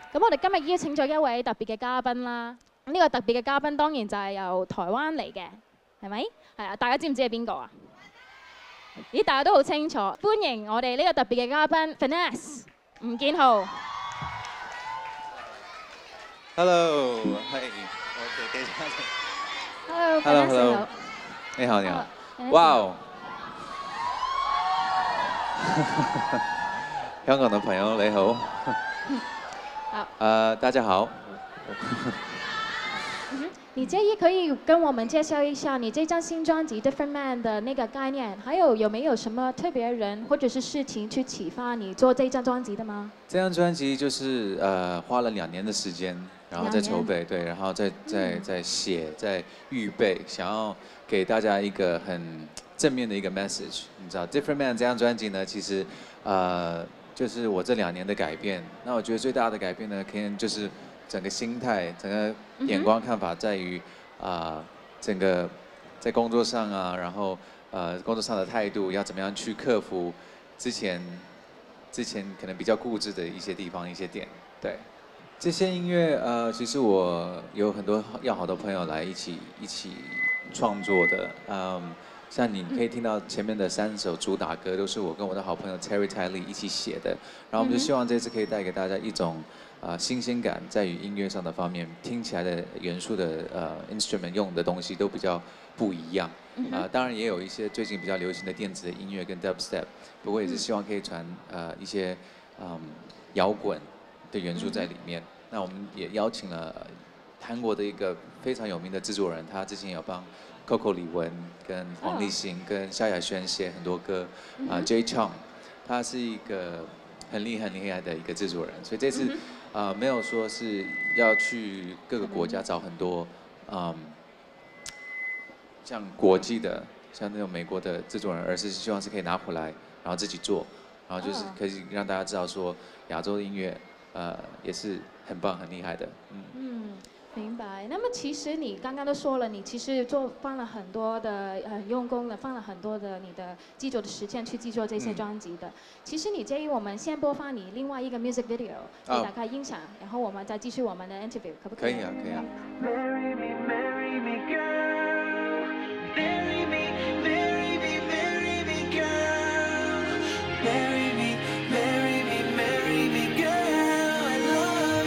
咁我哋今日邀請咗一位特別嘅嘉賓啦。呢個特別嘅嘉賓當然就係由台灣嚟嘅，係咪？係啊，大家知唔知係邊個啊？咦，大家都好清楚。歡迎我哋呢個特別嘅嘉賓 Finesse 吳建豪。 Hello， 係，我哋記者。 Hello， 你好，你好。哇！香港的朋友你好。 好。 大家好。 你介意可以跟我們介紹一下你這張新專輯《Different Man》的那個概念，還有沒有什麼特別人或者是事情去啟發你做這張專輯的嗎？ 這張專輯就是花了2年的時間，然後在籌備，對，然後在寫，在預備，想要給大家一個很正面的一個 message。你知道《Different Man》這張專輯呢，其實就是我這2年的改變。那我覺得最大的改變呢，可能就是整個心態、整個眼光看法，在於整個在工作上啊，然後工作上的態度要怎麼樣去克服之前可能比較固執的一些地方、一些點。對，這些音樂其實我有很多要好的朋友來一起創作的。像你可以聽到前面的3首主打歌，都是我跟我的好朋友 Terry Tiley 一起寫的。然後我們就希望這次可以帶給大家一種新鮮感，在於音樂上的方面，聽起來的元素的instrument 用的東西都比較不一樣。當然也有一些最近比較流行的電子的音樂跟 dubstep， 不過也是希望可以傳一些搖滾的元素在裡面。那我們也邀請了韓國的一個非常有名的製作人，他之前有幫Coco 李玟跟黃立行跟蕭亞軒寫很多歌，Jay Chong， 他是一個很厲害的一個製作人，所以這次沒有說是要去各個國家找很多像國際的，像那種美國的製作人，而是希望是可以拿回來，然後自己做，然後就是可以讓大家知道說亞洲的音樂也是很棒很厲害的。 明白。那麼其實你剛剛都說了，你其實放了很多的很用功的，放了很多的你的製作的時間去製作這些專輯的。其實你介意我們先播放你另外一個 music video， 給大家欣賞，然後我們再繼續我們的 interview， 可不可以？ 可以啊，可以啊。 Marry me, marry me, girl. Marry me, marry me, marry me, girl. Marry me, marry me, marry me, girl. I love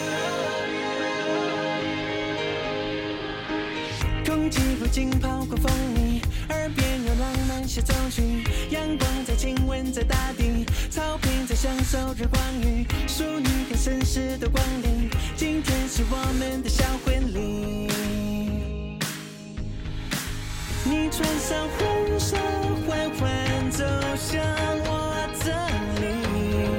you. 空氣不禁跑過風裡，耳邊有浪漫協奏曲，陽光在親吻在大地，草坪在享受日光浴，淑女跟紳士的光臨，今天是我們的小婚禮。你穿上婚紗，緩緩走向我這裡，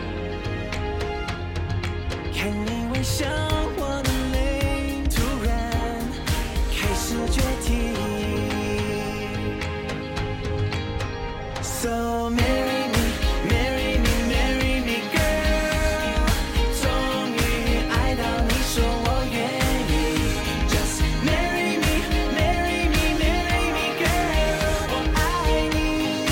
看你微笑，我的淚突然開始決堤。So marry me, marry me, marry me, girl. 終於愛到你說我願意。Just marry me, marry me, marry me, girl. 我愛你。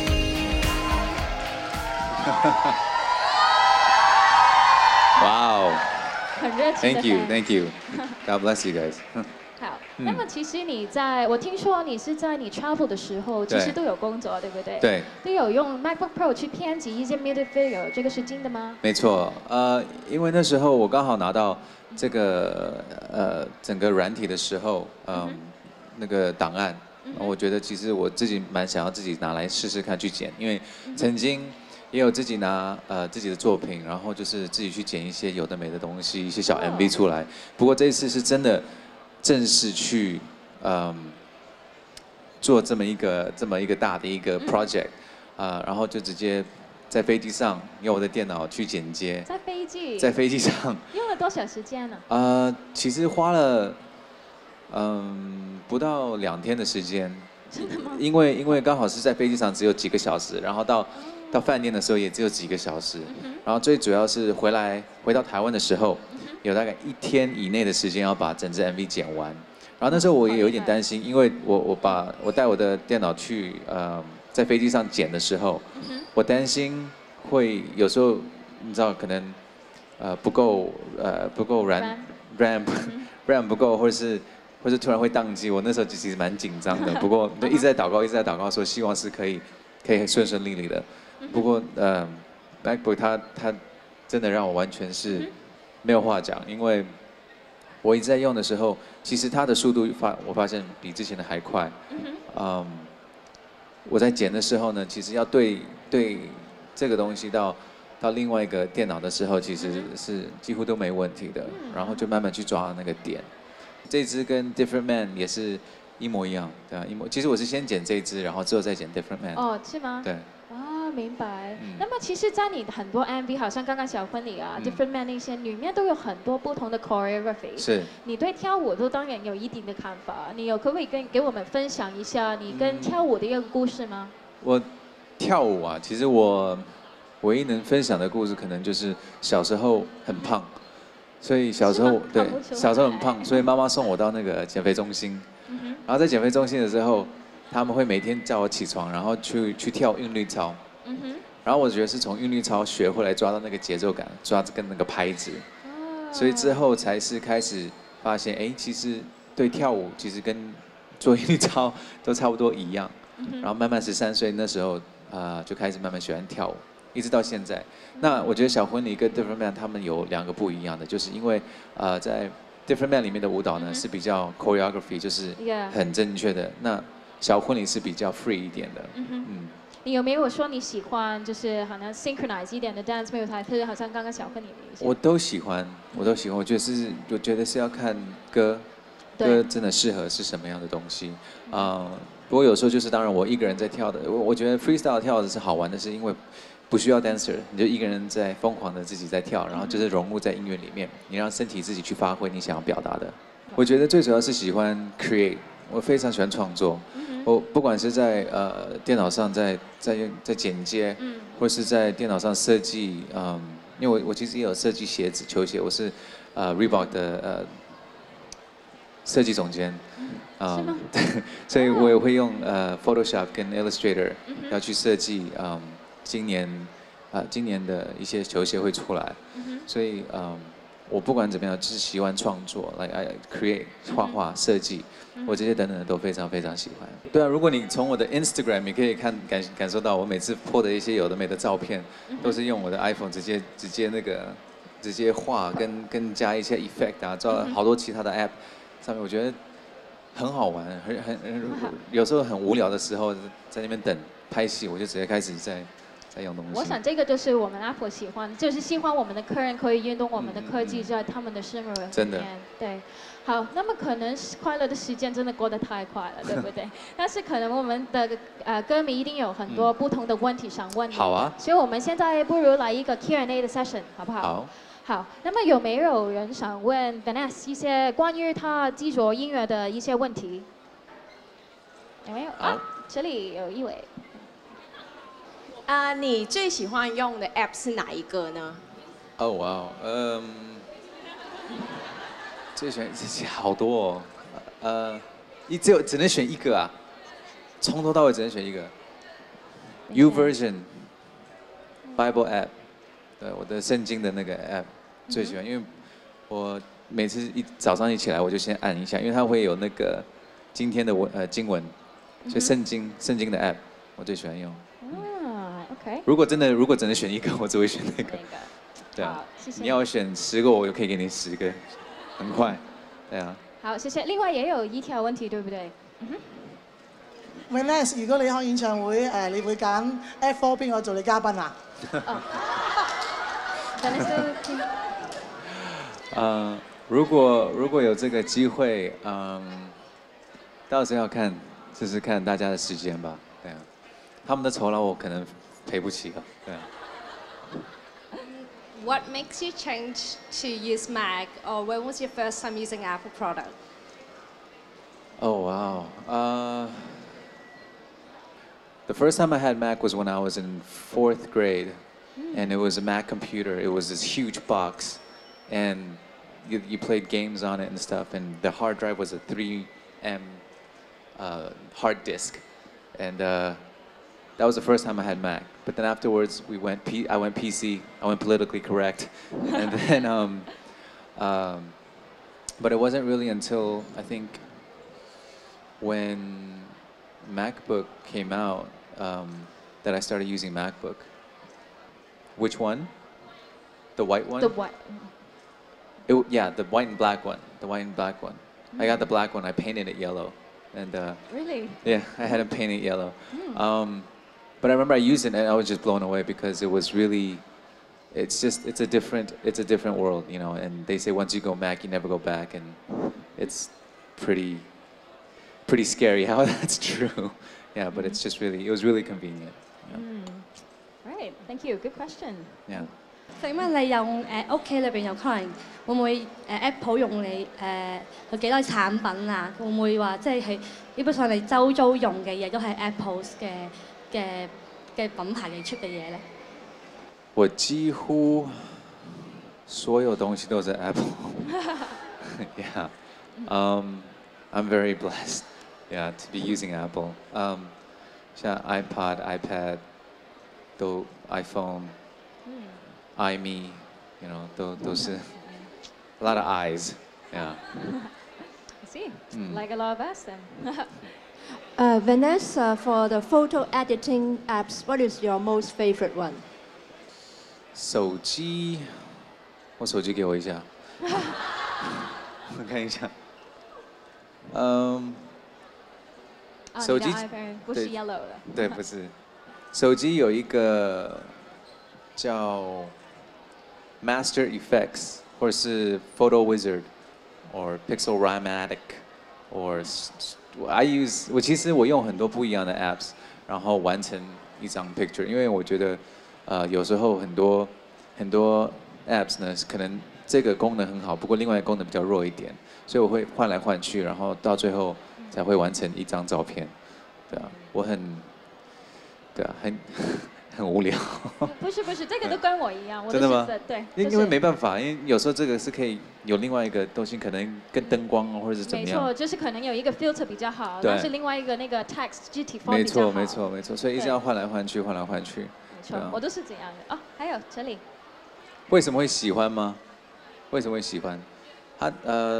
Wow！ 很熱情的 Thank you, thank you. God bless you guys. 好，那麼其實我聽說你是在你 travel 的時候，其實都有工作，對不對？ 對。 都有用 MacBook Pro 去編輯一些 music video， 這個是真的嗎？ 沒錯，因為那時候我剛好拿到這個整個軟體的時候，那個檔案，我覺得其實我自己蠻想要自己拿來試試看去剪，因為曾經也有自己拿自己的作品，然後就是自己去剪一些有的沒的東西，一些小 MV 出來。不過這一次是真的正式去做這麼一個大的一個 project，然後就直接在飛機上用我的電腦去剪接。在飛機上用了多少時間呢？ 其實花了不到2天的時間。 真的嗎？ 因為剛好是在飛機上只有幾個小時，然後到飯店的時候也只有幾個小時，然後最主要是回到台灣的時候，有大概1天以內的時間要把整支 MV 剪完。然後那時候我也有一點擔心，因為我帶我的電腦去在飛機上剪的時候，我擔心會有時候你知道可能不够ramp 不够，或是突然会宕机，我那时候其实蛮紧张的。不过一直在祷告，说希望是可以顺利的。不过MacBook 它真的让我完全是没有话讲，因为我一直在用的时候，其实它的速度我发现比之前的还快。我在剪的时候呢，其实要对这个东西到另外一个电脑的时候，其实是几乎都没问题的。然后就慢慢去抓那个点。这支跟 Different Man 也是一模一样，对啊，其实我是先剪这支，然后之后再剪 Different Man。 哦，是吗？ 对。 啊，明白。那么其实，在你很多 MV，好像刚刚小婚礼啊、Different Man 那些，里面都有很多不同的 choreography。 是。 你对跳舞都当然有一定的看法，你可不可以给我们分享一下你跟跳舞的一个故事吗？ 我跳舞啊，其实我唯一能分享的故事，可能就是小时候很胖。所以小时候小时候很胖，所以妈妈送我到那个减肥中心。然后在减肥中心的时候，他们会每天叫我起床，然后去跳韵律操。然后我觉得是从韵律操学会来抓到那个节奏感，抓跟那个拍子。所以之后才是开始发现，哎，其实对跳舞其实跟做韵律操都差不多一样。然后慢慢13岁那时候就开始慢慢喜欢跳舞。一直到现在，那我觉得小婚礼跟 Different Man 他们有2个不一样的，就是因为在 Different Man 里面的舞蹈呢是比较 choreography， 就是很正确的。那小婚礼是比较 free 一点的。 你有没有说你喜欢就是好像 synchronize 一点的 dance music， 还是好像刚刚小婚礼的一些？ 我都喜欢。我觉得是要看歌真的适合是什么样的东西。不过有时候就是当然我一个人在跳的，我觉得 freestyle 跳的是好玩的，是因为不需要 dancer， 你就一个人在疯狂的自己在跳，然后就是融入在音乐里面，你让身体自己去发挥你想要表达的。我觉得最主要是喜欢 create， 我非常喜欢创作。我不管是在电脑上在剪接，或是在电脑上设计，因为我其实也有设计鞋子、球鞋，我是Reebok 的设计总监。 是吗？ 对，所以我也会用Photoshop 跟 Illustrator 要去设计今年的一些球鞋会出来，所以我不管怎么样，就是喜欢创作，来create 画画设计，我这些等等的都非常非常喜欢。对啊，如果你从我的 Instagram， 你可以感受到我每次 po 的一些有的没的照片，都是用我的 iPhone 直接画跟加一些 effect 啊，照好多其他的 app 上面，我觉得很好玩，有时候很无聊的时候，在那边等拍戏，我就直接开始在用东西。 我想这个就是我们 Apple 喜欢，就是希望我们的客人可以运用我们的科技在他们的生活里面。 真的。 对，好，那么可能快乐的时间真的过得太快了，对不对？但是可能我们的歌迷一定有很多不同的问题想问你。 好啊。 所以我们现在不如来一个 Q&A 的 session， 好不好？ 好。 好，那么有没有人想问 Vanessa 一些关于他制作音乐的一些问题？有没有？这里有一位。 你最喜欢用的 app 是哪一个呢？ 哦哇最喜欢好多哦，只能选一个啊，从头到尾只能选一个。YouVersion Bible app， 对，我的圣经的那个 app 最喜欢，因为我每次早上一起来我就先按一下，因为它会有那个今天的经文，所以圣经的 app 我最喜欢用。 OK。 如果只能选一个，我只会选那个。对啊， 谢谢。 你要选10个，我就可以给你10个，很快。对啊。 好，謝謝。另外也有一條問題，對不對 ？Vanessa， 如果你開演唱會，你會揀 F4 邊個做你嘉賓啊如果有這個機會，到時候要看，就是看大家的時間吧。對啊，他們的酬勞我可能賠不起了。對啊。 What makes you change to use Mac, or when was your first time using Apple product? Oh wow. The first time I had Mac was when I was in 4th grade, and it was a Mac computer. It was this huge box, and you played games on it and stuff, and the hard drive was a 3M hard disk, and that was the first time I had Mac. But then afterwards, I went PC. I went politically correct, and then but it wasn't really until I think when MacBook came out that I started using MacBook. Which one? The white one? The what? Yeah, the white and black one. The white and black one. I got the black one. I painted it yellow, and Really? yeah, I had it painted yellow. But I remember I used it and I was just blown away because it was really, it's a different world, you know. And they say once you go Mac, you never go back, and it's pretty scary how that's true. Yeah, but it's just really, it was really convenient. Yeah. Right. Thank you. Good question. Yeah. 請問你用屋企裏邊有可能會唔會Apple 用你有幾多產品啊？會唔會話即係基本上你周遭用嘅嘢都係 Apple 嘅品牌嘅出嘅嘢咧？ 我几乎所有东西都是 Apple. Yeah. I'm very blessed. Yeah, to be using Apple. 像 iPod, iPad, 都 iPhone, iMe, you know, 都是 a lot of eyes. Yeah. I see. Like a lot of us then. Vanessa, for the photo editing apps, what is your most favorite one? 手机，我手机给我一下，我看一下。手机你的 iPhone 不是 yellow 的。 对，不是。手机有一个叫 Master Effects， 或者是 Photo Wizard， or Pixelmatic， or我其实我用很多不一样的 apps， 然后完成一张 picture， 因为我觉得有时候很多 apps 呢，可能这个功能很好，不过另外一个功能比较弱一点，所以我会换来换去，然后到最后才会完成一张照片。对啊，我很无聊。 不是，这个都跟我一样。我真的吗？ 对。 因为没办法，因为有时候这个是可以有另外一个东西，可能跟灯光或者是怎么样。 没错，就是可能有一个 filter 比较好， 对但是另外一个那个 text 具体 form 比较好。 没错，所以一直要换来换去。 没错，我都是这样的。哦，还有这里。 为什么会喜欢吗？为什么会喜欢？它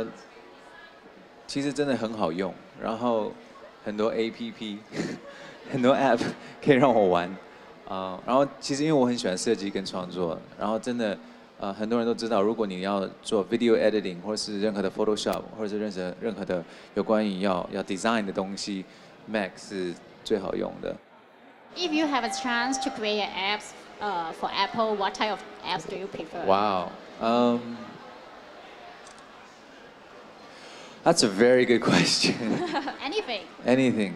其实真的很好用，然后很多 APP 很多 App 可以让我玩。然后其实因为我很喜欢设计跟创作，然后真的很多人都知道，如果你要做 video editing 或是任何的 Photoshop 或者是任何的有关于要 design 的东西 ，Mac 是最好用的。 If you have a chance to create apps for Apple, what type of apps do you prefer? Wow. That's a very good question. Anything.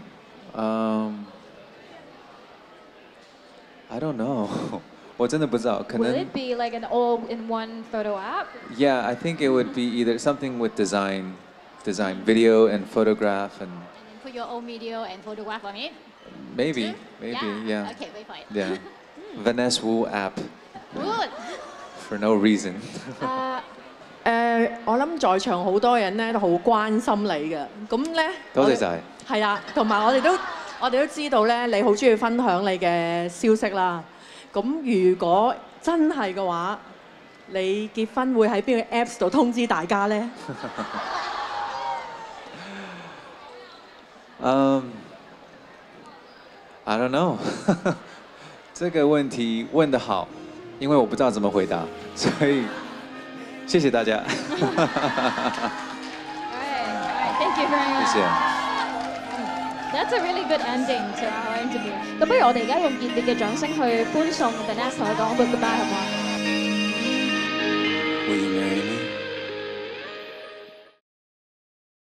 I don't know. 我真的不知道，可能。 Will it be like an all-in-one photo app? Yeah, I think it would be either something with design, video and photograph and. And put your own video and photograph on it. Maybe, yeah. Okay, wait for it. Yeah. Vanessa Wu app. Good. For no reason. 我諗在場好多人咧都好關心你嘅，咁咧多謝晒。 係啊，同埋我哋都知道咧，你好中意分享你嘅消息啦。咁如果真係嘅話，你結婚會喺邊個 Apps 度通知大家咧 ？I don't know 。这个问题问得好，因为我不知道怎么回答，所以谢谢大家。 Alright, thank you very much. 谢谢。 That's a really good ending to our interview. 咁不如我哋而家用熱烈嘅掌聲去歡送 Vanessa 同佢講 goodbye 好唔好啊？